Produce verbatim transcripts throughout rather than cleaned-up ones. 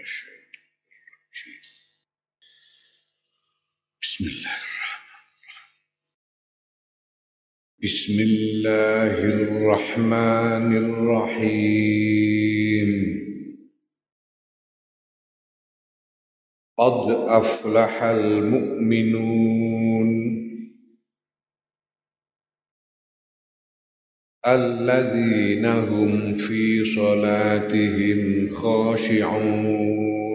Bismillahirrahmanirrahim. Bismillahirrahmanirrahim. Qad aflahal mu'minun alladzina hum fi salatihim khashi'un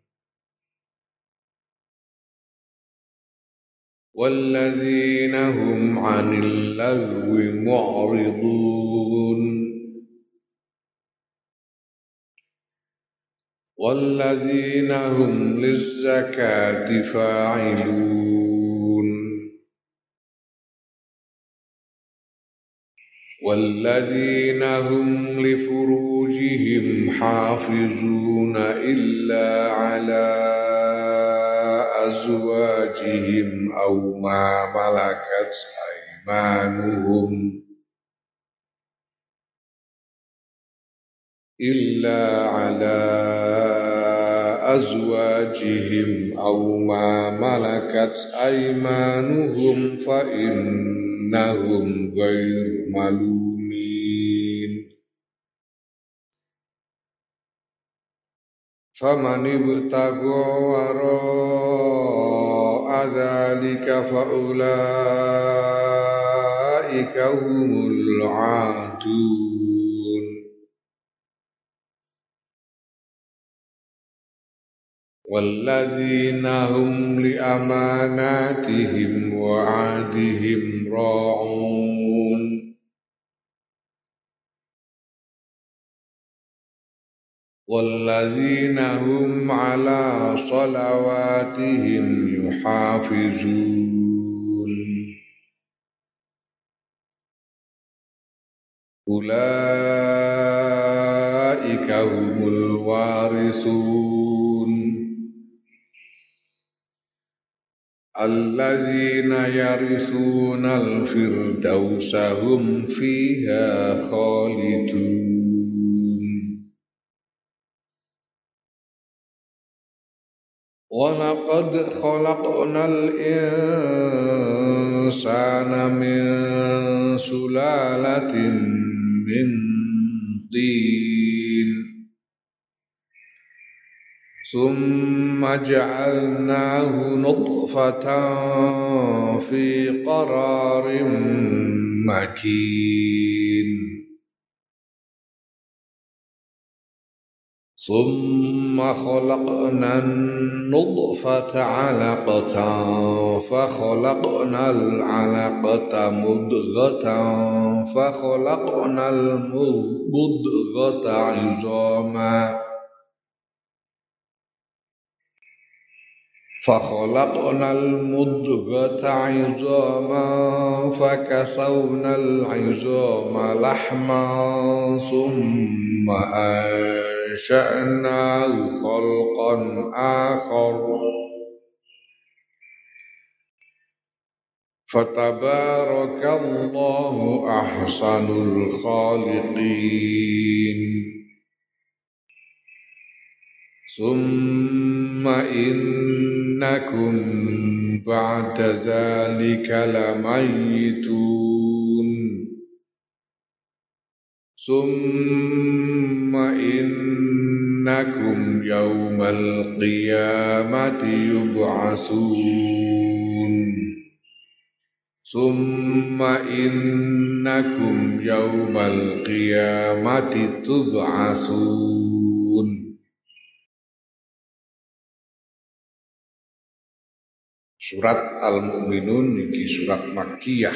walladzina hum 'anil lagwi mu'ridun walladzina hum lizzakati fa'ilun walladzina hum li furujihim hafizuna illa ala azwajihim aw ma malakat aymanuhum illa ala azwajihim aw ma malakat aymanuhum fa innahum ghairu malumin. Faman ibtagha wara'a dzalika fa ulaika humul 'adun. Walladzina hum li amanatihim wa 'ahdihim ra'un. Walladzina hum 'ala salawatihim yuhafizun. Ulaika humul warisun alladzina yarisuna al-firdausa hum fiha khalidun. Wa laqad khalaqnal insana min sulalatin min tin summa ja'alnahu nutfatan fi qararin makin summa khalaqnan nutfata 'alaqatan fa khalaqnal 'alaqata mudghatan fa khalaqnal mudghata 'idhaman fa khalaqnal mudghata 'idhaman fa kasawnal 'idhama lahman summa ansha'nahu khalqan akhar fatabarakallahu ahsanul khaliqin. Summa innakum ba'da dzalika lamayitun. Summa innakum yawmal qiyamati yub'asun. Summa innakum yawmal qiyamati tub'asun. Surat Al-Mu'minun iki surat Makkiyah.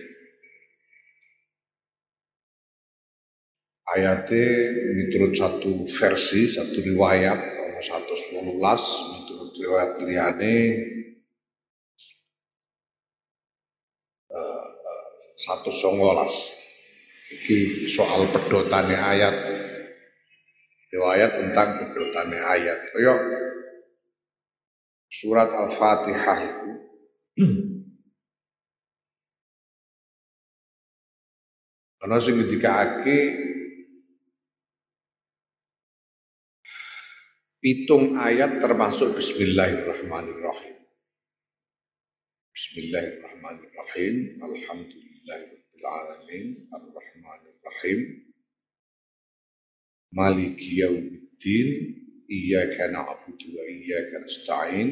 Ayate miturut satu versi, satu riwayat ana seratus wolulas, miturut riwayat liyane uh, seratus songolas. Iki soal pedotane ayat. Riwayat tentang pedotane ayat. Kaya surat Al-Fatihah itu ana sing ngendikake Pitung ayat termasuk Bismillahirrahmanirrahim. Bismillahirrahmanirrahim. Alhamdulillahirabbil alamin, arrahmanirrahim, maliki yaumiddin, iyyaka na'budu wa iyyaka nasta'in,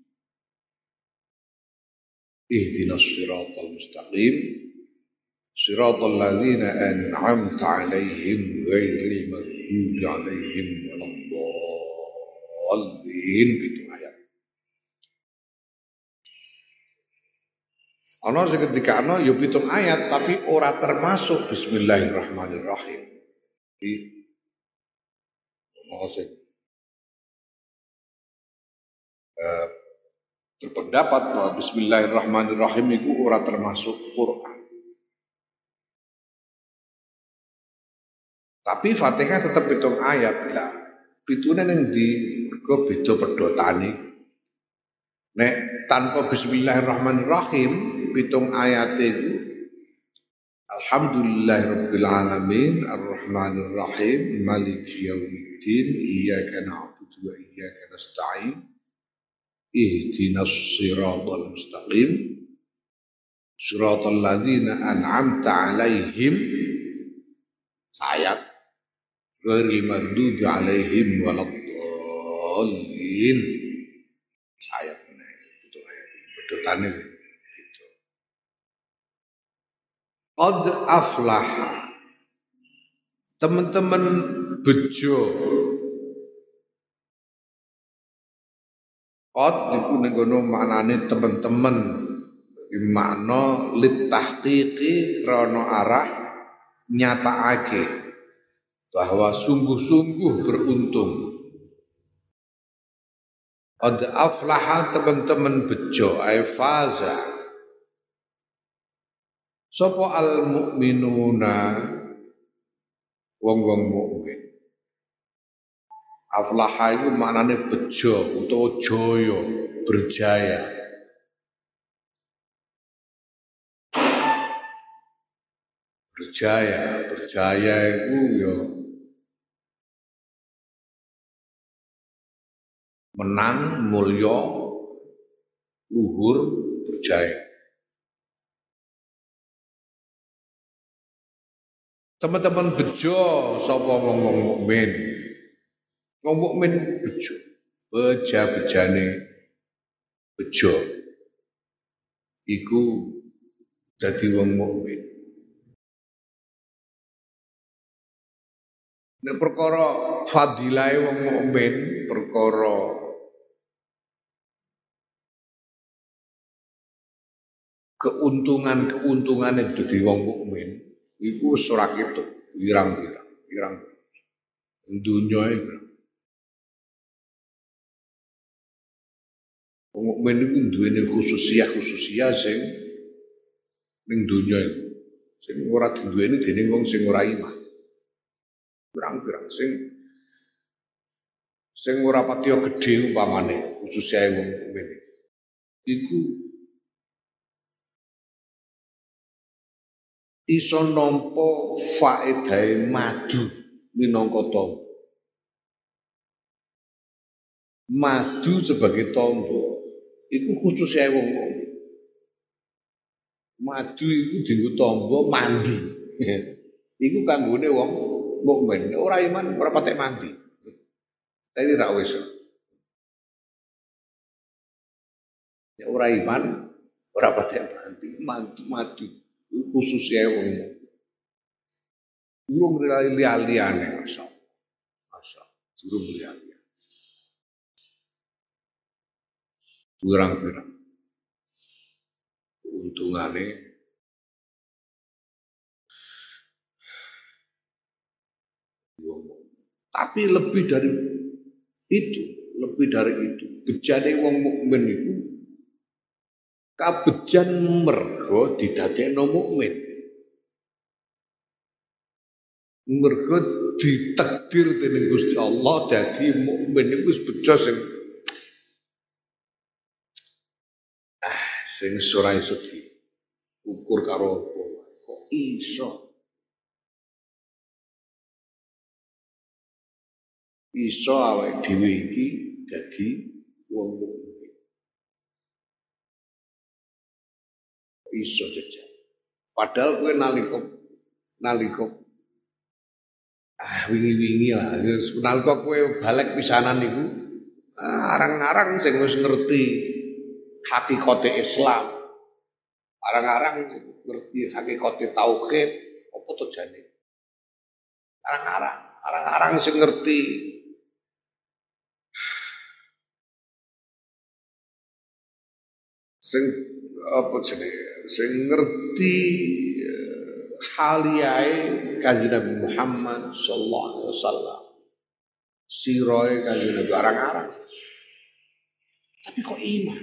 ihdinas siratal mustaqim, siratal ladzina an'amta 'alaihim ghairil maghdubi 'alaihim waladdallin. Pitung ayat. Ana sing ketika ana ya pitung ayat tapi ora termasuk Bismillahirrahmanirrahim. Iki ana sing eh, berpendapat bahwa Bismillahirrahmanirrahim itu ora termasuk Quran. Tapi Fatihah tetap pitung ayat lah. Pitune ning ndi mergo beda pedhotane. Nek tanpa Bismillahirrahmanirrahim pitung ayat itu Alhamdulillahirabbil alamin arrahmanirrahim maliki yaumiddin iyyaka na'budu wa iyyaka nasta'in ihdinas siratal mustaqim siratal ladzina an'amta 'alaihim ayat ghairil maghdubi 'alaihim waladdallin. Ayat ini itu ayat pedotane. Qad aflaha, teman-teman bejo. Qad iku ning kono maknane teman-teman, makna litahqiqi krana arah nyatakake bahwa sungguh-sungguh beruntung. Qad aflaha, teman-teman bejo, ay faza. Sapa al mukminuna, wong-wong mukmin. Aflaha itu maknane bejo utawa jaya, berjaya. Berjaya, berjaya itu ya menang, mulya, luhur, berjaya. Teman-teman bejo sapa wong-wong mukmin. Wong mukmin bejo, beja-bejane bejo iku dadi wong mukmin. Nek perkara fadilahe wong mukmin, perkara keuntungan-keuntungan dadi wong mukmin iku wis ora ketok, wirang-wirang, wirang. Dunya iki. Wong mukmin iku duwene khususiyah-khususiyah sing ning dunya iku. Sing ora diduweni dening wong sing ora iman. Wirang-wirang sing sing ora patiya gedhe umpamane khususiyah wong mukmin. Iku iso nampa faedahe madu minangka tamba. Madu sebagai tamba iku khusus ae wong mukmin. Madu iku dienggo tamba mandi. Iku kanggone wong mukmin. Ora iman ora patek mandi. Tapi ra wis. Ya ora iman ora patek mandi. Madu, madu. Khusus ya wong durung liya-liyane masa masa durung liya-liyane pirang-pirang untungane tapi lebih dari itu lebih dari itu bejane wong mukmin itu kabejan mergo didadekno mukmin. Mergo ditakdir dening Gusti Allah dadi mukmin iku wis bejo sing ah sing ora iso diukur karo apa. Kok iso? iso awake dhewe iki dadi wong mukmin. Iso jejak. Padahal kowe nalika nalika ah wingi-wingi lah nalika kowe balik pisanan niku arang-arang sing wis ngerti hakikate Islam. Arang-arang ngerti hakikate tauhid apa to jane. Arang-arang, arang-arang sing ngerti sing apa jenenge sing ngerti haliyae Kanjeng Nabi Muhammad sallallahu alaihi wasallam. Siroe Kanjeng Nabi arang-arang. Tapi kok iman?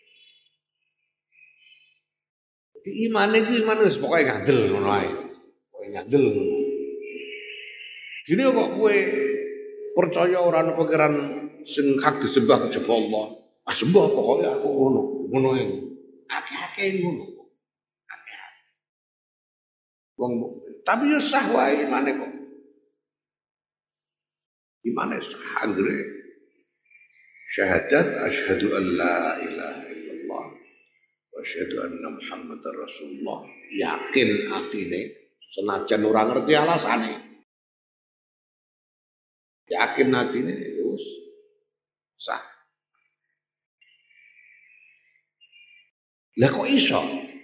Di iman iki iman wis pokoke ngandel ngono ae. Pokoke ngandel ngono. Gini kok kowe percaya ora ana pangeran sing hak disembah kejaba Allah. Ah sembah pokoke aku ngono. Ngono ae. Akeh-akeh ngono. Akeh-akeh. Wong mukmin. Tapi yo sah wae imane kok. Imane sah anggere syahadat asyhadu an la ilaha illallah wa asyhadu anna muhammadar rasulullah. Yakin atine senajan ora ngerti alasane. Yakin atine wis sah. Lah kok iso?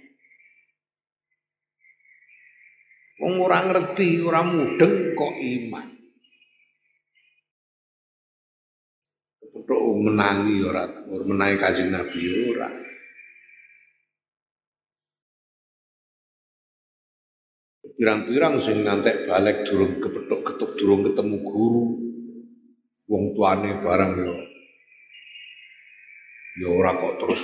Wong ora ngerti, ora mudeng kok iman. Kepethuk menangi ora, ora menangi Kanjeng Nabi ora. Pirang-pirang sing ngantek balik durung kepethuk ketuk durung ketemu guru. Wong tuane barang yo. Ya ora kok terus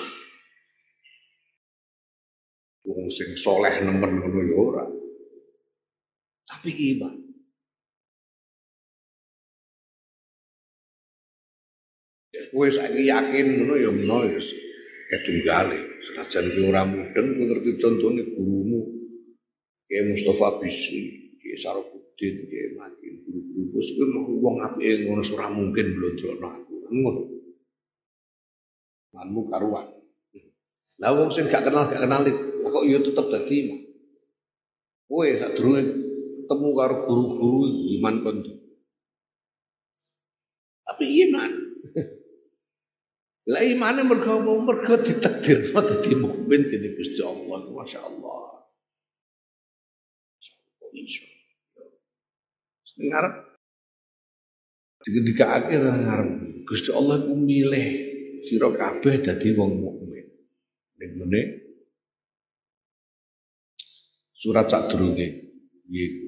wong sing soleh nemen ngono ya ora. Tapi iman. Kowe saiki yakin ngono ya meno ya ketunggale. Senajan kowe ora mudeng kowe ngerti contone gurumu. Kiai Mustafa Bisri, Kiai Sarofuddin, Kiai Makin, guru-guru wis kowe wong apike ngono ora mungkin blondrokno aku. Ngono. Manmu karuan. Lah wong sing gak kenal gak kenal kok ya tetep dadi imam. Kowe sadurunge ketemu karo guru-guru iman kon. Tapi iman. Lah imane mergo mergo ditakdirno dadi mukmin dening Gusti Allah, masyaallah. Iso. Ngarep dikekake ngarep Gusti Allah ku milih sira kabeh dadi wong mukmin. Ning ngene surat sadurunge iki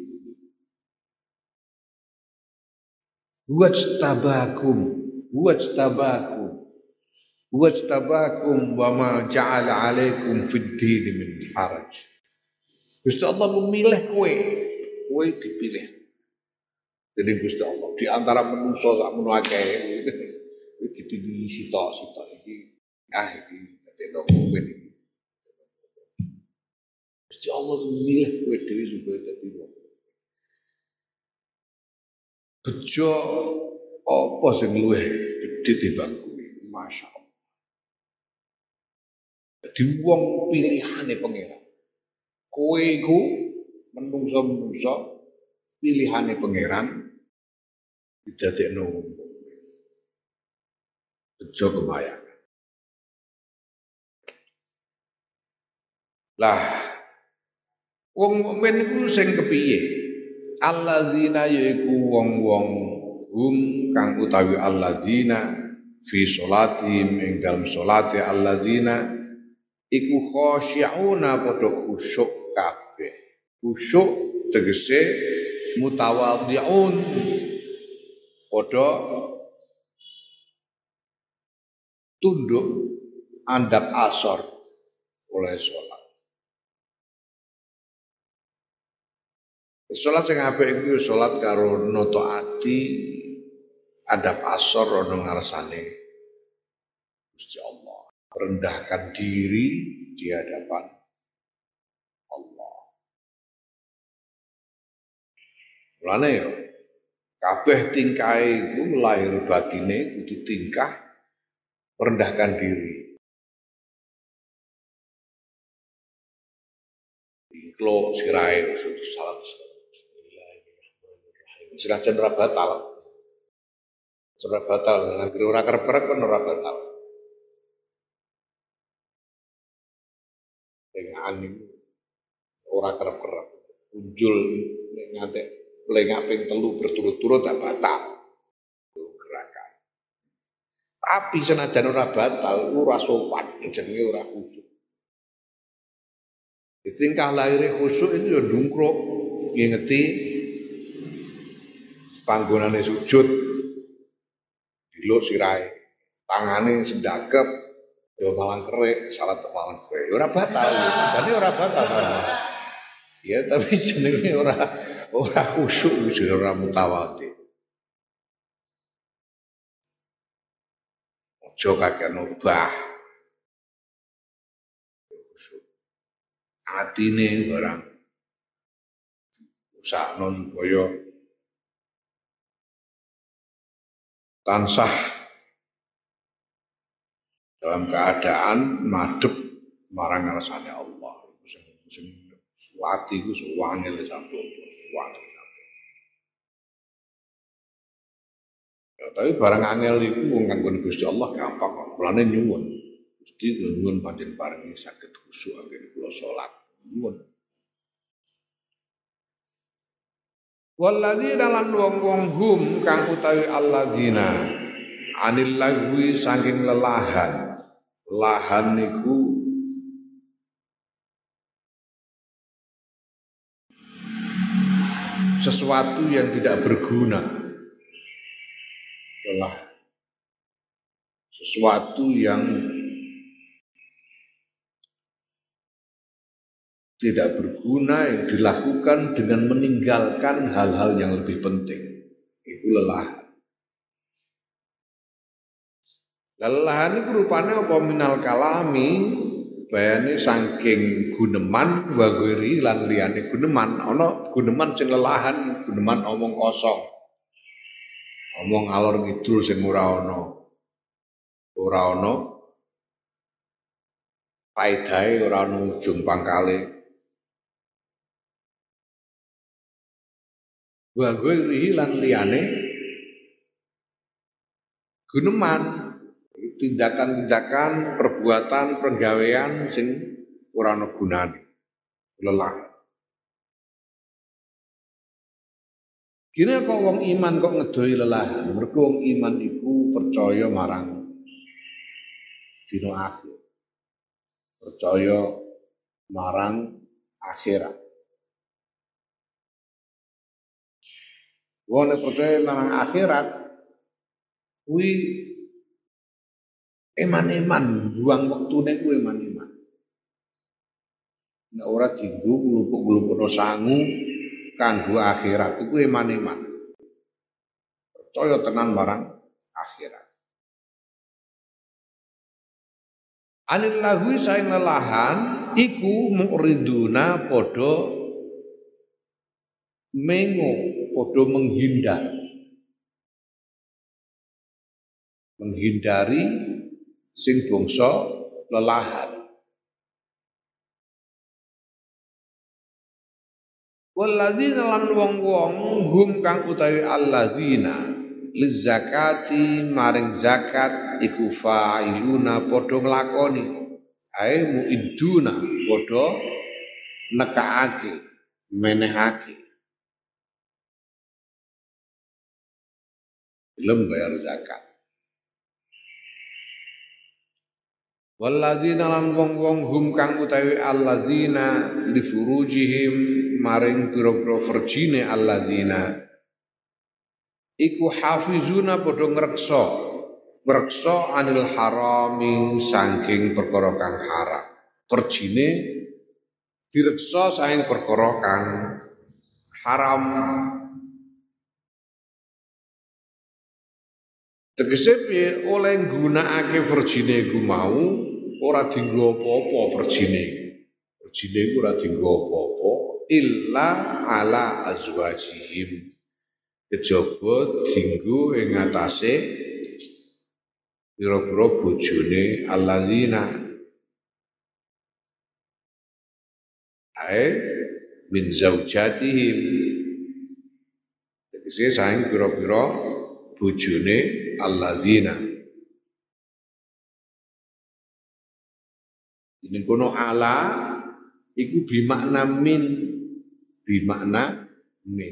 wajtabakum wajtabakum wajtabakum wa ma ja'ala 'alaikum fid din min haraj. Gusti Allah memilih kowe, kowe dipilih. Jadi Gusti Allah di antara manusa sak menawa akeh dipilih sitok-sitok iki ah iki dadi mukmin iki. Gusti Allah memilih kowe dhewe supaya dadi mukmin. Bejo apa sing luwih gedhe timbang kowe? Masyaallah. Dadi wong pilihane pangeran. Kowe iku menungso-menungso pilihane pangeran didadekno wong mukmin. Bejo kebayang. Lah wong mukmin iku sing kepiye? Alladzina yaiku wong-wong hum kang utawi alladzina fi sholatihim ing dalem salate alladzina iku khosyi'una padha khusyuk kabeh. Khusyuk tegese mutawadhi'un padha tunduk andap asor oleh salat. Salat sing apik iku salat karo nata ati andap asor ana ngarsane Gusti Allah. Rendahkan diri di hadapan Allah. Mulane ya Kabeh tingkahe iku lahir batine kudu tingkah merendahkan diri. Ikhlo sirahe salam. Senajan ora batal. Ora batal, anggere ora kerep-kerep kan ora batal. Lengakan niku ora kerep-kerep. Unjul nek ngantek lengak ping telu berturut-turut tak batal. Gerakan. Tapi senajan ora batal, ora sopan, jenenge ora khusyuk. Tingkah lahir khusyuk itu ya ndungkruk, ngingeti panggonane sujud, diluk sirahe, tangane sendakep, ya malang kerik, salat malang kerik. Ora batal, jadi ora batal. Ya tapi jenenge ora ora khusyuk, jenenge ora mutawadhi. Aja kakek obah. Atine barang usahno supaya tansah dalam keadaan madhep marang ngarsane Allah. Sing sing suwati iku suwangel sampun suwangel. Ya, tapi barang angel iku wong kanggo Gusti Allah gampang, mulane nyuwun. Gusti nyuwun panjenengan paringi saged khusyuk anggere kula salat. Nyuwun. Walladzina lan wong-wong hum kang utawi alladzina anil lagwi saking lelahan. Lahan niku sesuatu yang tidak berguna. Lelah. Sesuatu yang tidak berguna yang dilakukan dengan meninggalkan hal-hal yang lebih penting. Itu lelah. Lelahan itu rupanya apa minal kalami bayane saking guneman wa ghairi lan liyane guneman. Ana guneman sing lelahan, guneman omong kosong. Omong alor ngidul sing ora ana. Ora ana faedahe, ora ana ujung pangkale. Wa ghairi lan liyane guneman, tindakan-tindakan, perbuatan, penggawean sing ora ana gunane. Lelah. Kira kok wong iman kok ngedoi lelahan? Mergo wong iman iku percaya marang dina akhir. Percaya marang akhirat. Wong nek percaya marang akhirat kuwi eman-eman, buang wektune kuwi eman-eman. Nek ora dienggo glupuk-glupukno sangu kanggo akhirat iku eman-eman. Percaya tenan marang akhirat. Anil lahwi saing lelahan iku muriduna padha mengo, padha menghindar. Menghindari sing bangsa lelahan. Walladzina lan wong-wong hum kang utawi alladzina lizakati maring zakat iku fa'iluna padha nglakoni ae muidduna padha nekaake menehake belum bayar zakat. Walladzina lan wong-wong hum kang utawi alladzina li furujihim maring pira-pira verjine alladzina iku hafizuna padha ngreksa ngreksa anil harami saking perkara kang haram. Verjine direksa saking perkara kang haram. Tegese piye oleh nggunakake verjine iku mau ora dienggo apa-apa verjine. Verjine iku ora dienggo apa-apa illa ala azwajihim kejaba dinggo ing ngatasé pira-pira bojone alladzina ae min zaujatihim tegese saing pira-pira bojone alladzina ini kono ala iku bimakna min bimakna min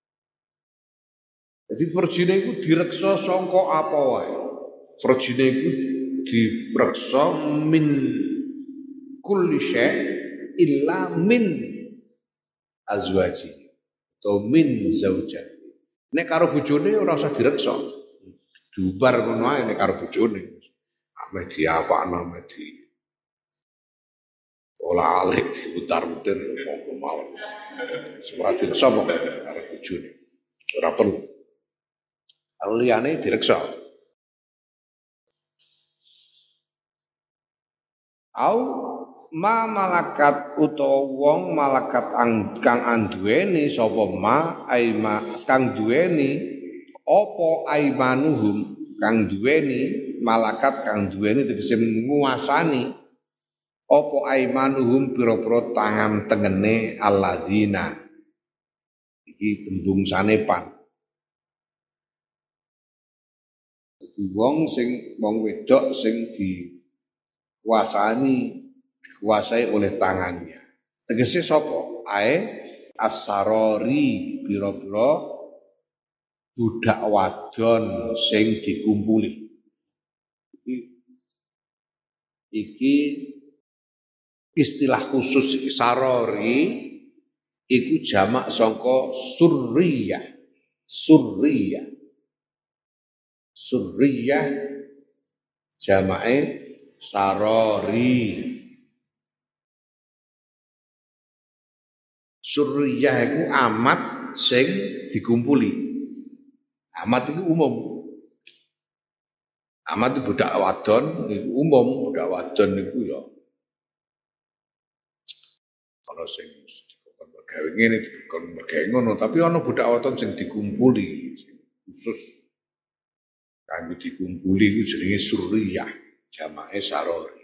jadi verjine iku direksa sangka apa wae verjine iku direksa min kulli syai illa min azwaji atau min zaujat. Nek karo bojone ora usah direksa. Diubar ngono ae nek karo bojone. Ame diapakno ame di olah alik diputar-putar monggo mawon. Ora direksa kok karo bojone. Ora perlu. Kalau liyane direksa. Au ma malakat utawa wong malakat ang, kang anduweni sapa ma aima kang duweni apa aimanuhum kang duweni malakat kang duweni tegese nguasani apa aimanuhum pira-pira tangan tengene alladzina iki tembung sanepan dadi wong sing wong wedok sing dikuasani dikuasai oleh tangannya. Tegese sapa? Ae asarori pira-pira budak wadon sing dikumpuli. Iki, iki istilah khusus sarori iku jamak sangka surriyah. Surriyah. Surriyah jamake sarori. Surriyah itu amat sing dikumpuli. Amat itu umum. Amat itu budak wadon itu umum, budak wadon itu ya. Kalau sing dikon mergawe ngene dikon mergawe ngono, tapi ana budak wadon sing dikumpuli khusus kanggo dikumpuli iku jenenge surriyah, jamake sarori.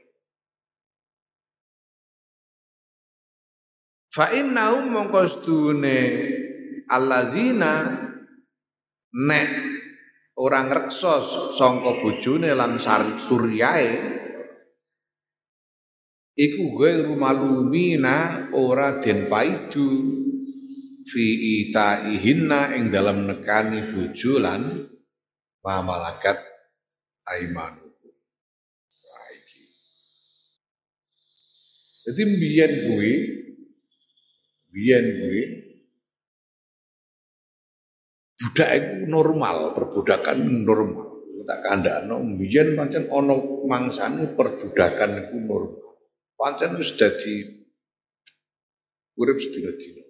Fa innahum mongko sedune alladzina nek ora ngreksa sangka bojone lan suryae iku ghairu malumina ora den paidu fi itaihinna ing dalam nekani bojo lan mamalakat aimanu. Jadi mbiyen kuwi biyen kuwi budak iku normal, perbudakan normal. Tak kandhakno biyen pancen ana mangsane perbudakan iku normal. Pancen wis dadi urip sedina-dina.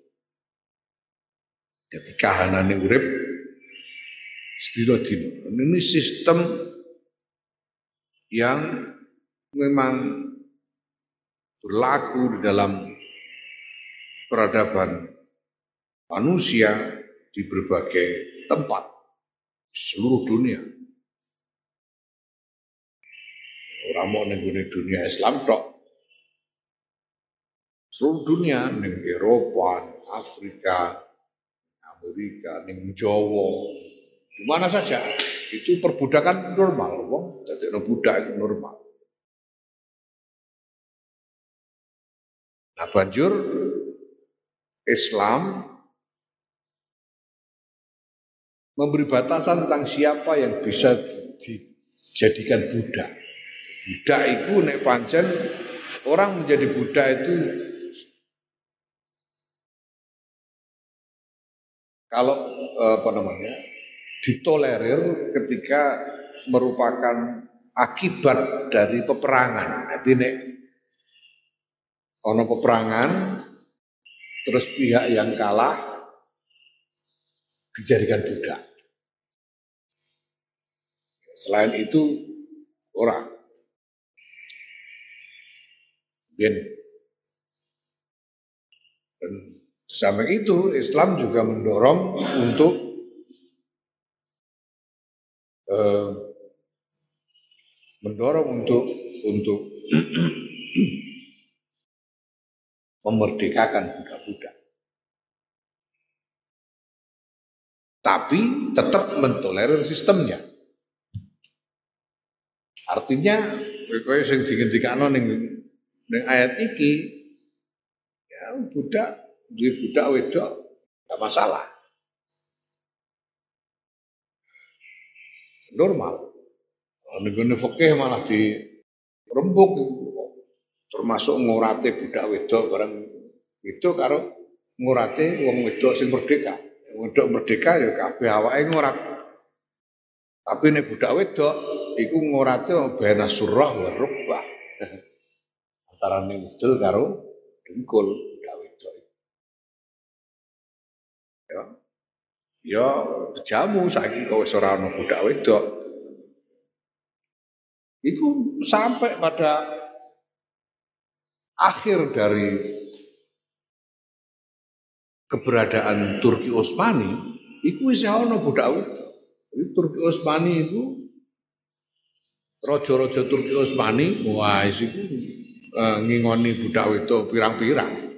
Dadi kahanane urip sedina-dina. Ini sistem yang memang berlaku di dalam peradaban manusia di berbagai tempat di seluruh dunia. Ora mau ning dunia Islam tok. Seluruh dunia ning Eropa, Afrika, Amerika, ning Jawa, di mana saja itu perbudakan normal, wong dadi budak itu normal. Nah, banjur Islam memberi batasan tentang siapa yang bisa dijadikan budak. Budak itu nek pancen orang menjadi budak itu kalau apa namanya ditolerir ketika merupakan akibat dari peperangan. Jadi nek ono peperangan terus pihak yang kalah dijadikan budak. Selain itu orang. Dan di samping itu Islam juga mendorong untuk mendorong untuk untuk memerdekakan budak-budak. Tapi tetap mentolerir sistemnya. Artinya, kaya sing dingendikano ning ning ayat iki, ya budak, duwe budak wedok enggak masalah. Normal. Ning fikih malah dirembuk, termasuk ngurate budak wedok bareng itu karo ngurate wong wedok sing merdeka. Wedok merdeka ya kabeh awake ngurat. Tapi nek budak wedok iku ngurate bena surah wa rubbah. Antarane udel karo dengkul budak wedok. Ya. Ya jamu saiki kok wis ora ana budak wedok. Iku sampai pada akhir dari keberadaan Turki Utsmani, iku wis ana budak wedok. Turki Utsmani itu raja-raja Turki Utsmani, wah iku uh, ngingoni budak wedok pirang-pirang.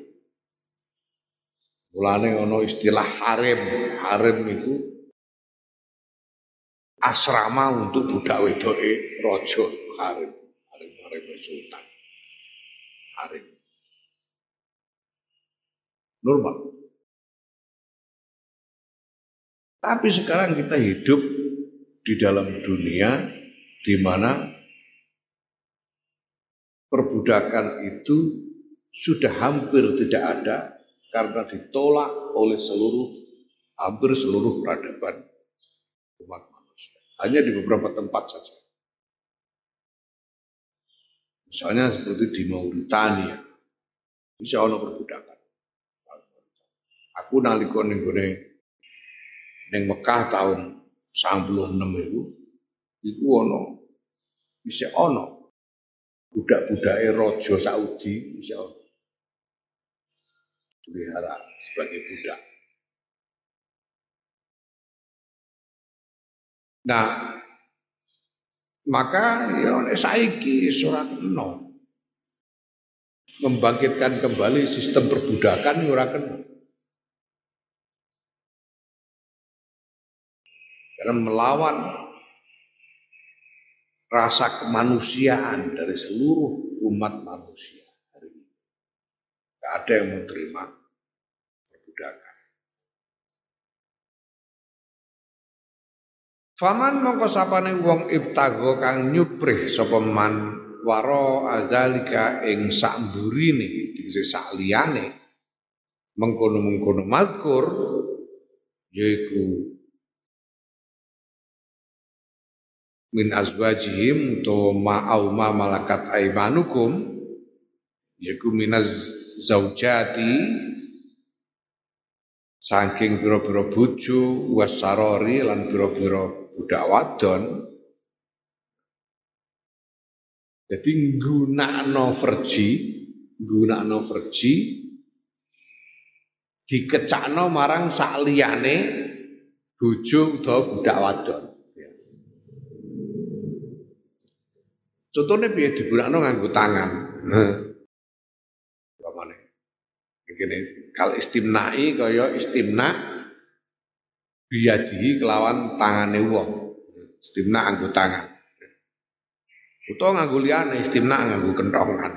Mulane ana istilah harem. Harem itu asrama untuk budak wedoke raja, harem. Harem-harem sultan. Harem. Normal. Tapi sekarang kita hidup di dalam dunia di mana perbudakan itu sudah hampir tidak ada karena ditolak oleh seluruh hampir seluruh peradaban umat manusia. Hanya di beberapa tempat saja. Misalnya seperti di Mauritania, bisa ono perbudakan. Aku nalika ning gone ning Mekah tahun sembilan puluh enam itu, iku ono bisa ono budak-budake raja Saudi bisa ono pelihara sebagai budak. Nah, maka ya saiki ora kena membangkitkan kembali sistem perbudakan ora kena. Karena melawan rasa kemanusiaan dari seluruh umat manusia hari ini. Tidak ada yang mau terima perbudakan. Faman mongko sapane wong ibtago kang nyuprih sapa man waro azalika ing sakmburine dise sak liyane mengkono-mengkono mazkur yaiku min azwajihim utawa ma'au ma malakat aimanukum yaiku minaz zaujati saking pira-pira bojo wasarori lan pira-pira budak wadon. Jadi nggunakno verji, nggunakno verji dikecakno marang sakliyane bojo utawa budak wadon. Contohnya piye digunakno nganggo tangan. Heeh. Pamane. Iki kal istimnai kaya istimna biadihi kelawan tangane wong. Istimna nganggo tangan. Utawa nganggo liyane istimna nganggo kentongan.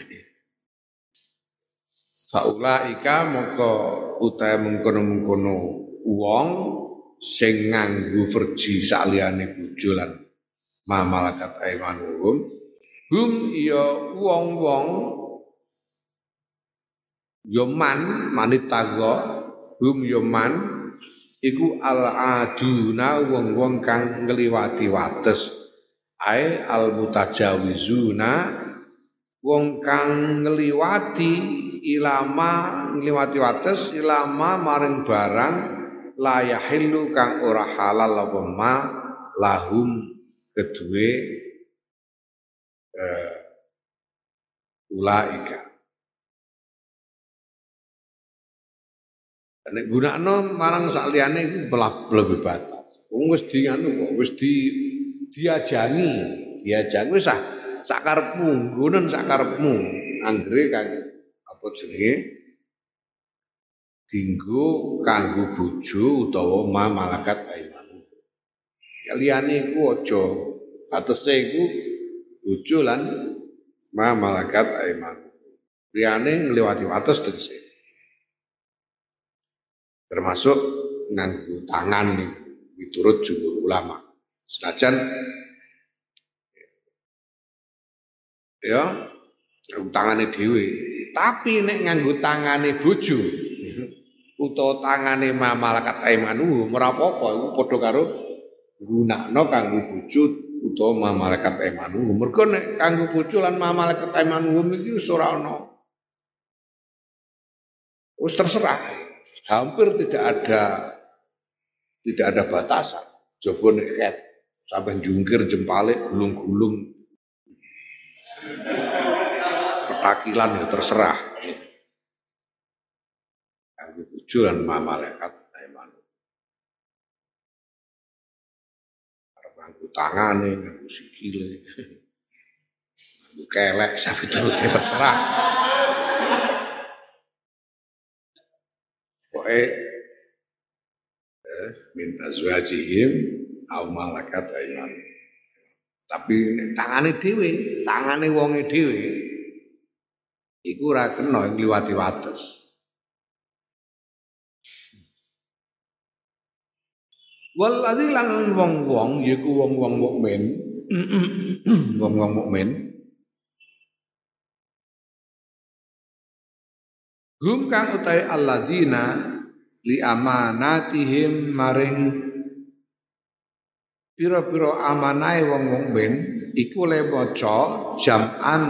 Faulaika moko utahe mengkono-mengkono wong sing nganggo verji saliyane bojo lan ma malakat aimanuhum hum ya wong-wong ya man manitago hum ya man iku al aduna wong-wong kang ngliwati wates ae al mutajawizuna wong kang ngliwati ilama ngliwati wates ilama maring barang la yahillu kang ora halal apa ma lahum kedue uh, ulaika. Nek gunakno marang sakliyane iku lebih batas. Wong wis di anu kok wis di diajangi diajak wis ah sakarepmu, nggonen sakarepmu. Anggere kan apa jenenge dinggo kanggo bojo utawa ma malakat aimanu. Liyane iku aja batese iku bojo lan ma malakat aimanu. Liyane ngliwati wates tegese. Termasuk nganggo tangan nih miturut jumhur ulama. Senajan ya nganggo tangane dhewe, tapi nek nganggo tangane bojo utawa tangane ma malakat aimanu ora apa-apa iku padha karo gunakno kanggo bojo utawa ma malakat aimanu. Mergo nek kanggo bojo lan ma malakat aimanu iki wis ora ana. Wis terserah. Hampir tidak ada tidak ada batasan. Coba nek ket sampai jungkir jempale gulung-gulung petakilan ya terserah. Kanggo bojo lan ma malaikat aimanu. Arep nganggo tangane, nganggo sikile. Nganggo kelek sampe turute terserah. Pokoke eh minta azwajihim au malakat aimanu. Tapi tangane dhewe, tangane wonge dhewe iku ora kena ngliwati wates. Waladzi lan wong-wong yaiku wong-wong mukmin, wong-wong mukmin hum kang utahe alladzina li amanatihim maring pira-pira amanahe wong mukmin iku le maca jam'an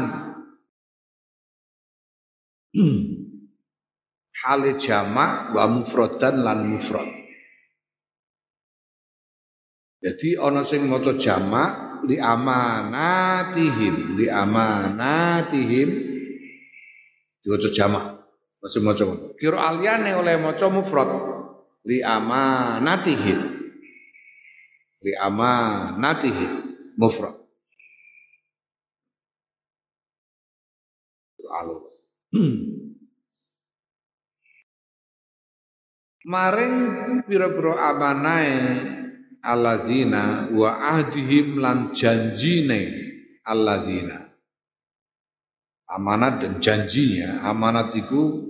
hale jamak wa mufradan lan mufrad. Jadi ana sing maca jamak li amanatihim li amanatihim diwaca jamak. Masih maca ngono. Kira aliyane oleh maca mufrad li amanatihim. Li amanatihim mufrad. Alul. Maring pira-pira amanahe alladzina wa ahdihim lan janjine alladzina. Amanat dan janjinya, amanat itu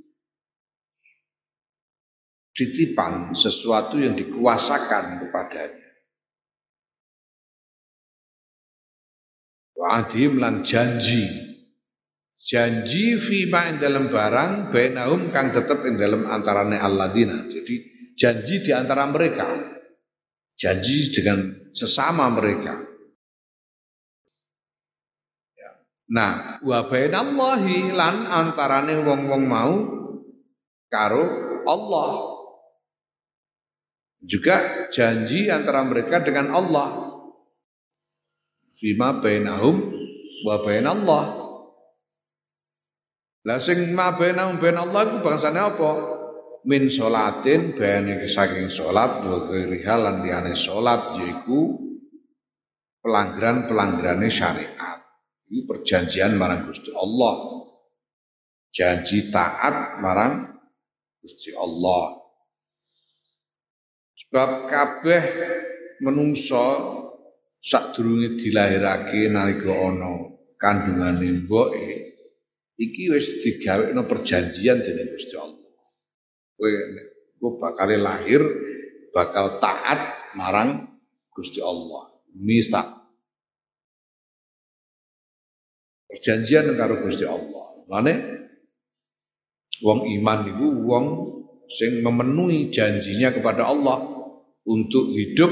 titipan sesuatu yang dikuasakan kepadanya. Wa ahdihim lan janji. Janji fima ing dalam barang bainahum kang tetep ing dalam antarane alladzina. Jadi janji di antara mereka. Janji dengan sesama mereka. Nah, wa bainallahi lan antarane wong-wong mau karo Allah. Juga janji antara mereka dengan Allah. Fima bainahum wa bainallah. Lah sing ma bainahum bainallah itu bangsane apa? Min sholatin bayane saking salat wa ghairiha lan liyane salat yaiku pelanggaran-pelanggarane syariat. Ini perjanjian marang Gusti Allah. Janji taat marang Gusti Allah. Sebab kabeh menungso sadurunge dilahirake nalika ana kandungane mboke iki wis digawekno perjanjian dening Gusti Allah. Kowe kowe bakal lahir bakal taat marang Gusti Allah. Misa perjanjian karo Gusti Allah. Mane wong iman niku wong sing memenuhi janjinya kepada Allah untuk hidup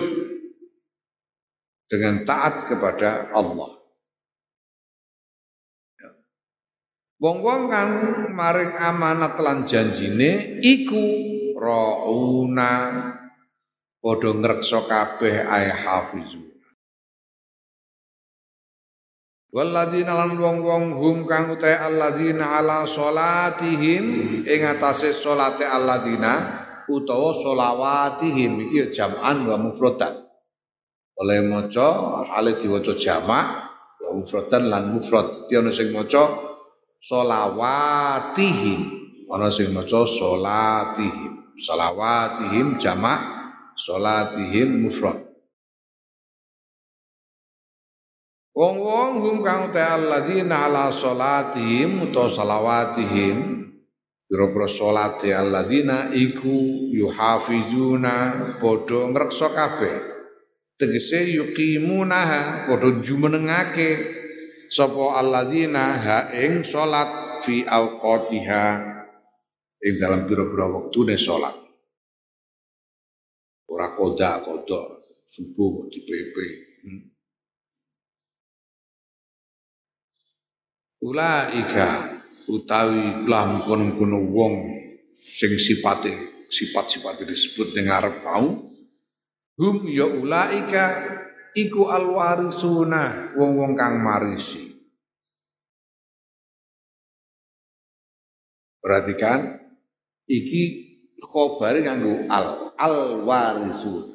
dengan taat kepada Allah. Wong-wong kang maring amanat lan janjine iku rauna padha ngreksa kabeh ay hafizu. Walladzina lan wong-wong hum kang utahe alladzina ala salatihim ing atase salate alladzina utawa sholawatihim iki jam'an wa mufradan. oleh maca hale diwaca jamak wa mufradan lan mufrad. Dadi ana sing maca sholawatihim, ana sing maca sholatihim. Sholawatihim jamak, sholatihim mufrad. Wong-wong hum kang ta alladzina ala sholatihim utawa sholawatihim, pira-pira sholate alladzina iku yuhafizuna padha ngreksa kabeh. Tegese yuqimunaha padha jumenengake sapa alladzina ha ing salat fi awqatiha ing dalam pira-pira wektune salat. Ora koda-koda subuh dipepe. Hmm. Ulaika utawi lah mungkon-mungkon wong sing sifate sifat-sifat disebut ning ngarep mau hum ya ulaika iku alwarisuna wong-wong kang marisi. Perhatikan iki khabare nganggo al alwarisun.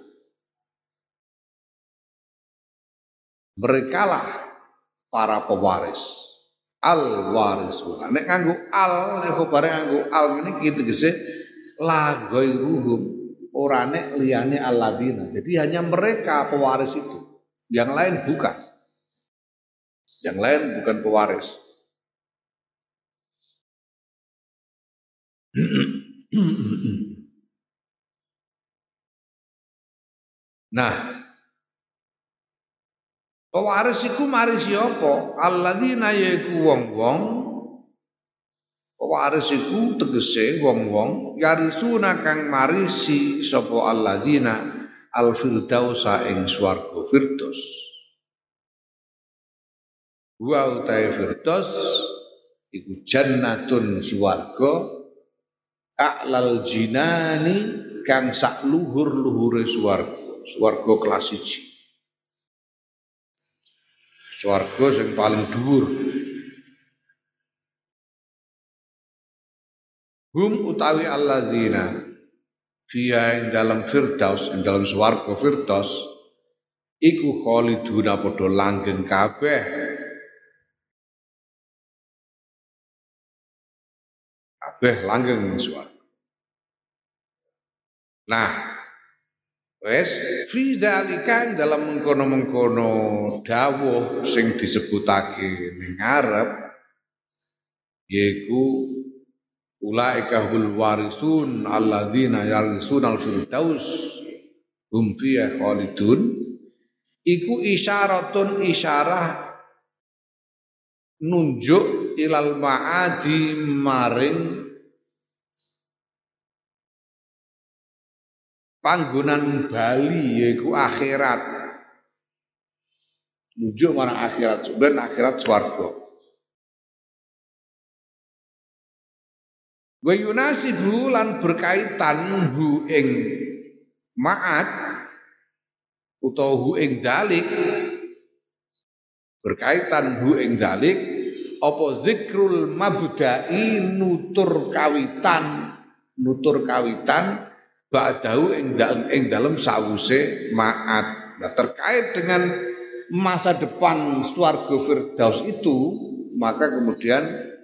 Merekalah para pewaris. Al-warisuna. Nek nganggo al, nek khabare nganggo al ngene iki tegese la ghairuhum, ora nek liyane alladzina. Jadi hanya mereka pewaris itu. Yang lain bukan. Yang lain bukan pewaris. Nah, pewaris iku marisi apa? Alladzina yaiku wong-wong. Pewaris iku tegese wong-wong yarisuna kang marisi sapa alladzina al-firdausa ing swarga firdaus. Wa utai firdaus iku jannatun swarga a'lal jinani kang sak luhur-luhure swarga. Swarga kelas siji. Swarga sing paling dhuwur. Hum utawi alladzina fiha ing dalam firdaus, ing dalam swarga firdaus iku khaliduna padha langgeng kabeh. Kabeh langgeng ing swarga. Nah, wes fi dzalika dalam mengkono-mengkono dawuh sing disebutake ning ngarep yaiku ulaika hul warisun alladzina yarisunal firdaus hum fiha khalidun iku isyaratun isyarah nunjuk ilal ma'adi maring panggonan bali yaiku akhirat. Nunjuk marang akhirat, sebenarnya akhirat swarga. Wa yunasibu lan berkaitan hu ing ma'ad utawa hu ing dalik berkaitan hu ing dalik apa zikrul mabda'i nutur kawitan nutur kawitan ba'dahu ing ing dalem sawuse ma'ad. Nah, terkait dengan masa depan swarga firdaus itu maka kemudian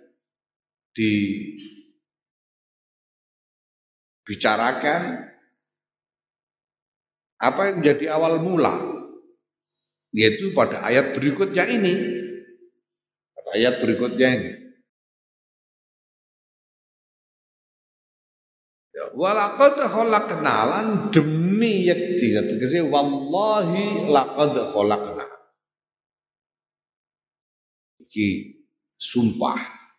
dibicarakan apa yang menjadi awal mula, yaitu pada ayat berikutnya ini. Pada ayat berikutnya ini. Walaqad khalaqna lan demi yakti, tegese wallahi laqad khalaqna. Iki sumpah.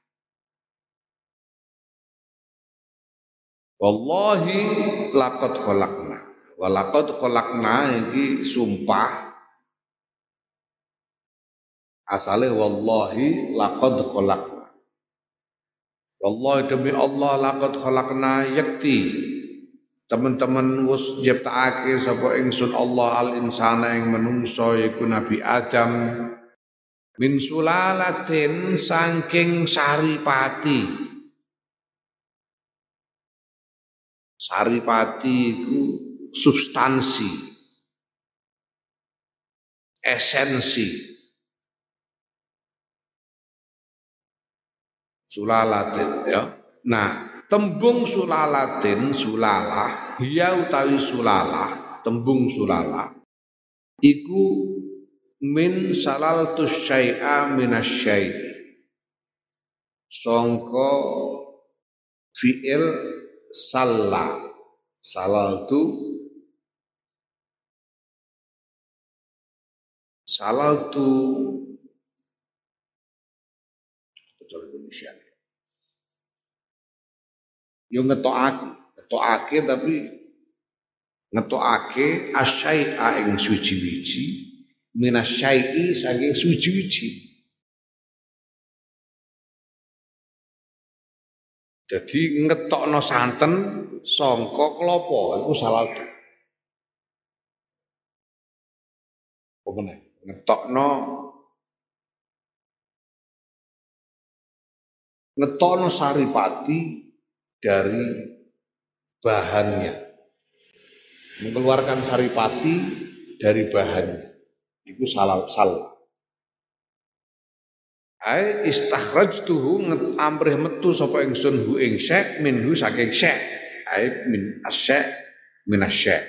Wallahi laqad khalaqna. Walaqad khalaqna iki sumpah. Asale wallahi laqad khalaqna. Wallahi demi Allah laqad khalaqna yakti. Teman-teman wis nyiptakake sapa ingsun Allah al insana ing menungso iku Nabi Adam min sulalatin saking saripati. Saripati iku substansi. esensi sulalatin ya. Nah, tembung sulalatin, sulalah, hiya utawi sulalah, tembung sulalah iku min salaltus syai'a minasyai' sangka fi'il salla salaltu salaltu cara Indonesia yo ngetokake ngetokake tapi ngetokake asyai'a ing suci-wiji minasyai'i saking suci-wiji. Jadi ngetokno santen sangka klapa iku salaltu. Apa meneh? Ngetokno ngetokno saripati dari bahannya. Mengeluarkan saripati dari bahannya. Iku salal sal. Ai istakhrajtuhu amrih metu sapa ingsun hu ing syek minhu saking syek. Ai min asyek min asyek.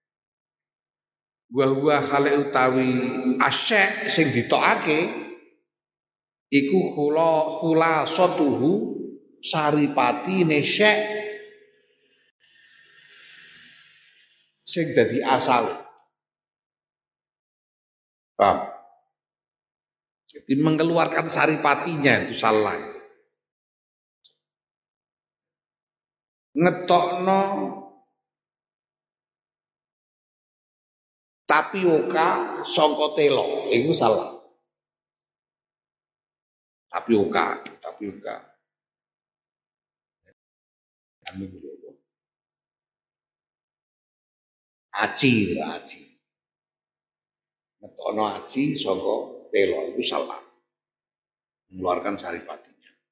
Wa huwa khali utawi asyek sing ditokake iku khula khulasatuhu saripati syek sing dadi asal. Paham? Jadi mengeluarkan saripatinya itu salah. Ngetokno tapioka sangka telo itu salah. Tapioka, tapioka. Anu dulu. Aci, aci. Ngetokno aci sangka telo itu salah. Mengeluarkan saripatinya.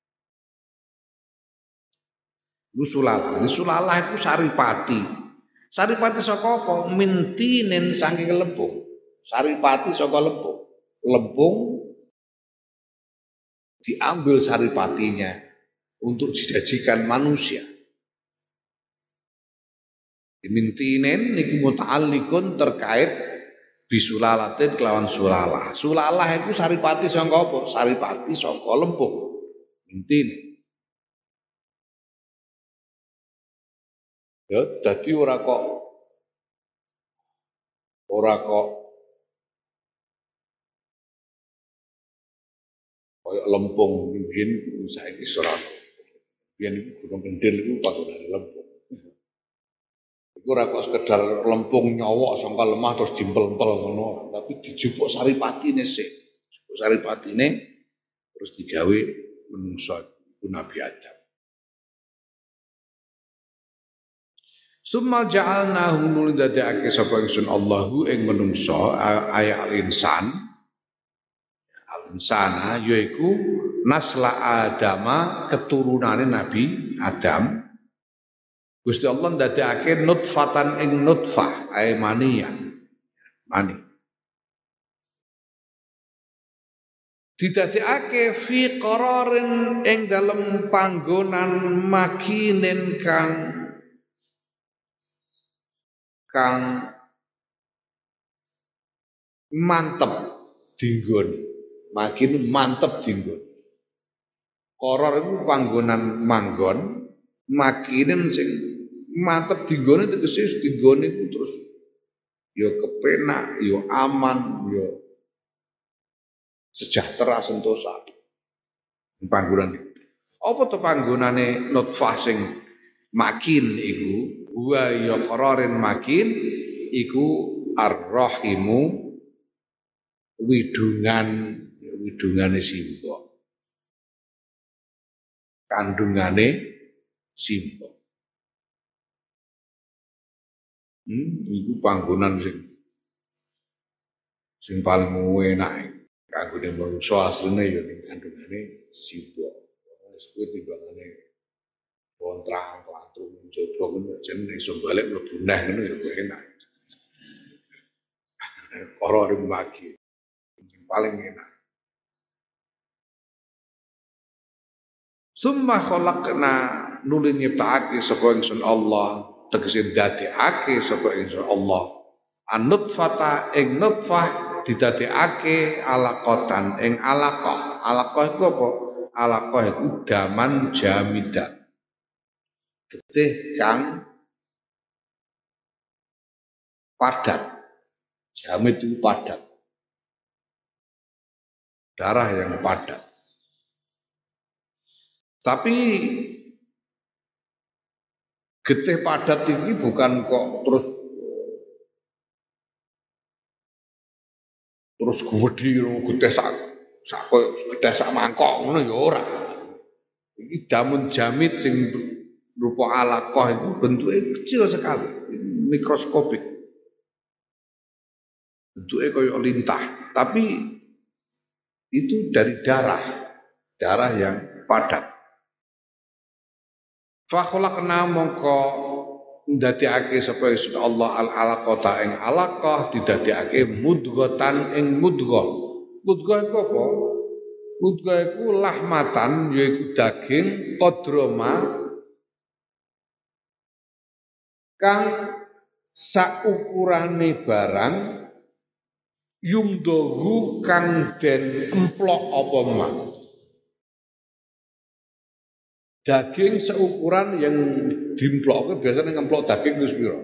Itu sulalah. Ini sulalah itu saripati. Saripati saka apa? Mintinen saking lempung. Saripati saka lempung. Lempung diambil saripatinya untuk dijajikan manusia. Mintinen niku muta'alliqun terkait bisulalatin kelawan sulalah. Sulalah itu saripati saka apa? Saripati saka lempung. Mintinen. Ya, jadi ora kok ora kok koyo lempung mungkin saiki ora. Biyen iku gunung kendil iku panggonane lempung. Iku ora kok sekedar lempung nyowok sangka lemah terus dimpel-empel ngono, tapi dijupuk saripatine sik. Dijupuk saripatine terus digawe menungso iku Nabi Adam. Summa ja'alnahu nuli dadekake sapa ingsun Allahu ing menungso ayat al-insan al-insana yaiku nasla Adama keturunane Nabi Adam. Gusti Allah ndadekake nutfatan ing nutfah ay maniyan mani didadekake fi qararin ing dalem panggonan makinen kang kang mantep dinggon makin mantep dinggon koror itu panggonan manggon makinen sing mantep dinggone tegese dinggone itu terus ya kepenak ya aman ya sejahtera sentosa panggonan itu apa to panggonane nutfah sing makin iku wa ya qararin makin iku ar-rahimu widungan widungane simbok kandungane simbok hmm iku panggonan sing sing paling enak kanggone manungsa asline ya ning kandungane simbok wis kuwi timbangane kontrang klantru njaba ngono jenenge iso balik mlebu neh ngono ya enak. Ora ring lagi. paling enak. Summa khalaqna nuli nyiptakake sapa ingsun Allah, tegese dadekake sapa ingsun Allah. An-nutfata ing nutfah didadekake alaqatan ing alaqah. Alaqah iku apa? Alaqah iku daman jamidan. Getih kang padat. Jamid itu padat. Darah yang padat. Tapi getih padat ini bukan kok terus terus gede getih sak sak getih sak mangkok ngono ya ora. Iki damun jamid sing rupa alaqah itu bentuknya kecil sekali, mikroskopik. Bentuknya kayak lintah, tapi itu dari darah, darah yang padat. Fa khalaqna mongko ndadekake sapa Allah al alaqata ing alaqah didadekake mudghatan ing mudghah. Mudghah iku apa? Mudghah iku lahmatan yaiku daging qadroma kang saukurane barang yumdohu kang den emplok apa mah. Daging seukuran yang dimplok, biasanya ngemplok daging itu sepiro.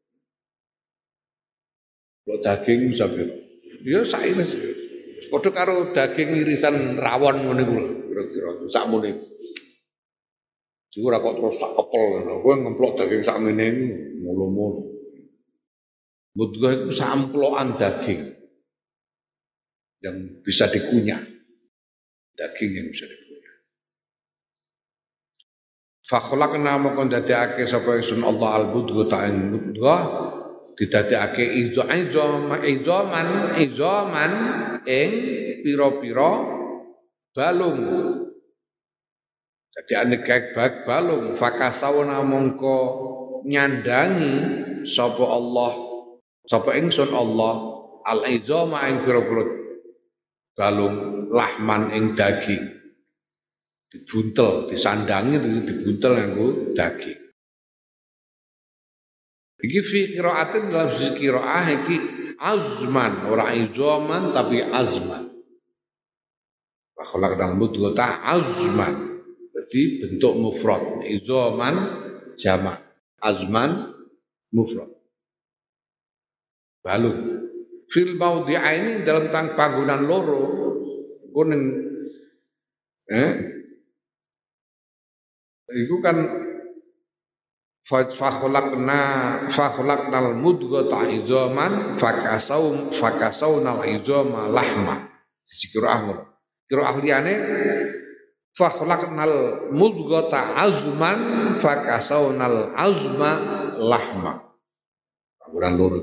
Plok daging bisa piro. Ya sairis. Padha karo daging irisan rawon ngene kuwi kira-kira sakmene. Jadi ora kok terus sak kepel ngono. Kowe ngemplok daging sak ngene iki mulu-mulu. Mudghah itu samplokan daging yang bisa dikunyah. Daging yang bisa dikunyah. Fa khalaqna moko ndadekake sapa ingsun Allah al-budghah ta'in mudghah didadekake idzam idzaman idzaman ing pira-pira balung. Jadi aneka bag balung fakasawna mongko nyandangi sapa Allah sapa ingsun Allah al-idzama ing pira-pira balung lahman ing daging. Dibuntel, disandangi terus dibuntel nganggo daging. Iki fi qiraatin dalam sisi qiraah iki azman ora izaman tapi azman. Wa khalaqal mudghata azman. Jadi bentuk mufrad, izaman jamak, azman mufrad. Balung. Fil maudhi'aini dalam tang panggonan loro kuning eh itu kan fakholakna fakholaknal mudghata idzaman fakasau fakasaunal idzama lahma. Siji qiraah ngono. Qiraah liyane fakholaknal mudghata azman fakasaunal azma lahma. Panggonan loro.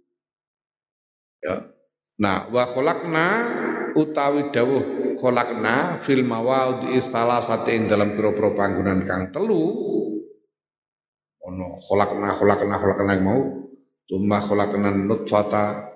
Ya. Nah, wa kholakna utawi dawuh kholakna fil mawadhi salasati ing dalam pira-pira panggonan kang telu ono kholakna kholakna kholakna mau tumma kholakna nutfata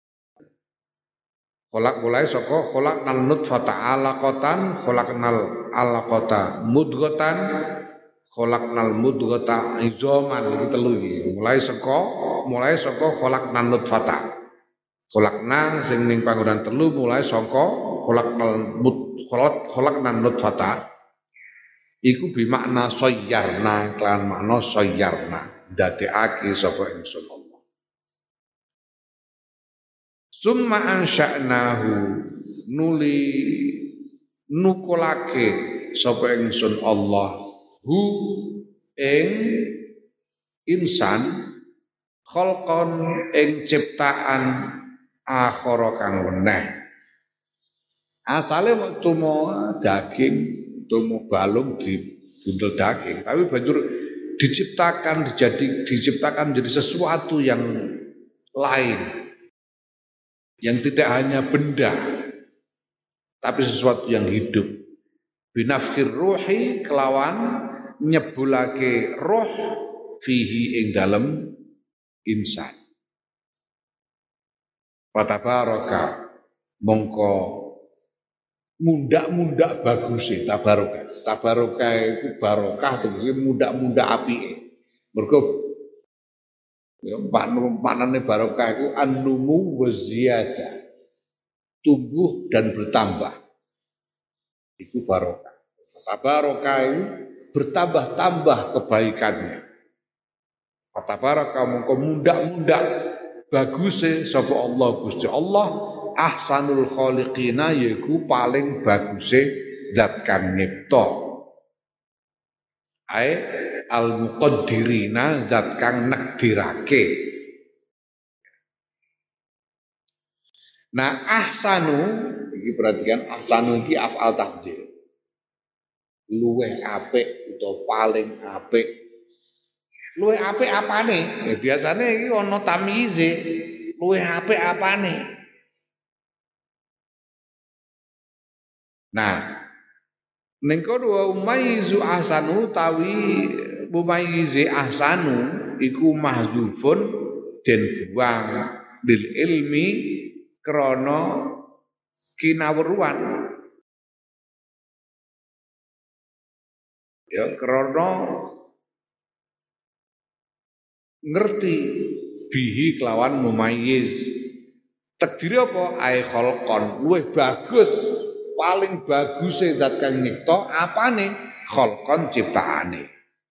kholak mulai saka kholakna nutfata alaqatan kholaknal alaqata mudghatan kholaknal mudghata izaman iki telu iki mulai saka mulai saka kholakna nutfata kholakna sing ning panggonan telu mulai saka kholaknal mud kholak kholaknan nutfata iku bimakna sayyarna kelan makna sayyarna ndadekake sapa ingsun Allah. Summa ansha'nahu nuli nukulake sapa ingsun Allah hu ing insan khalqan ing ciptaan akhara kang weneh. Asale waktu mau daging, tumo balung di buntel daging, tapi banjur diciptakan dijadi diciptakan menjadi sesuatu yang lain, yang tidak hanya benda, tapi sesuatu yang hidup. Binafkir ruhi kelawan nyebulake roh fihi ing dalem insan. Fatabaraka mongko mundak-mundak bagus e tabarokah. Tabarokah iku barokah tegese mundak-mundak apike. Mergo ya panane barokah iku an-numu wa ziyadah. Tumbuh dan bertambah. Itu barokah. Tabarokah itu bertambah-tambah kebaikannya. Tabarokah mongko mundak-mundak baguse sapa Allah Gusti Allah ahsanul khaliqina yaiku paling baguse zat kang nyipta. Ai al muqaddirina zat kang nakdirake. Nah ahsanu iki perhatikan ahsanu iki af'al tafdhil. Luweh apik utawa paling apik. Luweh apik apane? Ya biasane iki ana tamyize. Luweh apik apane? Nah, ning kono umayyizu ahsanu tawi mumayyizi ahsanu iku mahdzufun den buang bil ilmi krana kinawruan. Ya krana ngerti bihi kelawan mumayyiz. Takdire apa? Ai khalqon luwih bagus, paling baguse zat kang nyipta apane? Khalqon ciptaane.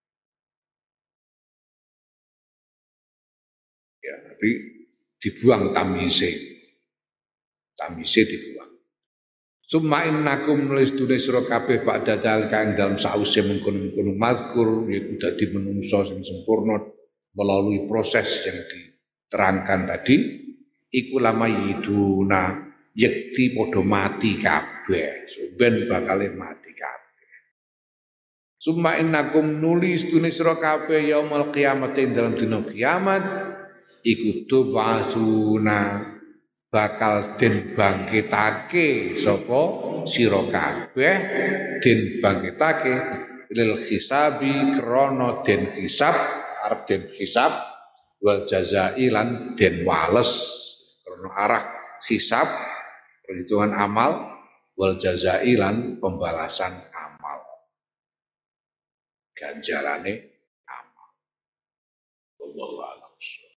Ya, tapi dibuang tamyize. Tamyize dibuang. Summa innakum nulis tulis sira kabeh ba'da dal kang dalam sause mengkono-mengkono mazkur yaiku dadi menungso sing sempurna melalui proses yang diterangkan tadi iku lama yiduna yekti padha mati kabeh ben bakal mati kabeh. Summa innakum nulis tulis sira kabeh yaumul kiamat ing dalam dina kiamat iku tubasuna bakal den bangkitake sapa sira kabeh den bangkitake lil hisabi krana den hisab arep den hisab wal jazai lan den wales krana arah hisab perhitungan amal wal jazai lan pembalasan amal ganjarane amal. Wallahu